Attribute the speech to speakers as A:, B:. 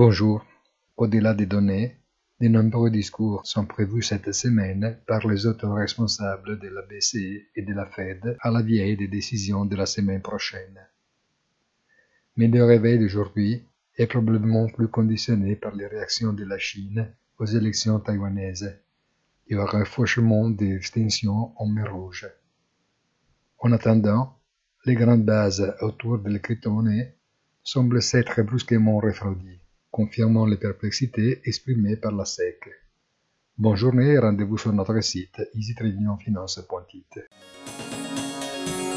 A: Bonjour. Au-delà des données, de nombreux discours sont prévus cette semaine par les autres responsables de la BCE et de la Fed à la veille des décisions de la semaine prochaine. Mais le réveil d'aujourd'hui est probablement plus conditionné par les réactions de la Chine aux élections taïwanaises et au renforcement des tensions en mer Rouge. En attendant, les grandes bases autour de la crypto-monnaie semblent s'être brusquement refroidies, confirmant les perplexités exprimées par la SEC. Bonne journée et rendez-vous sur notre site easytradingfinance.it.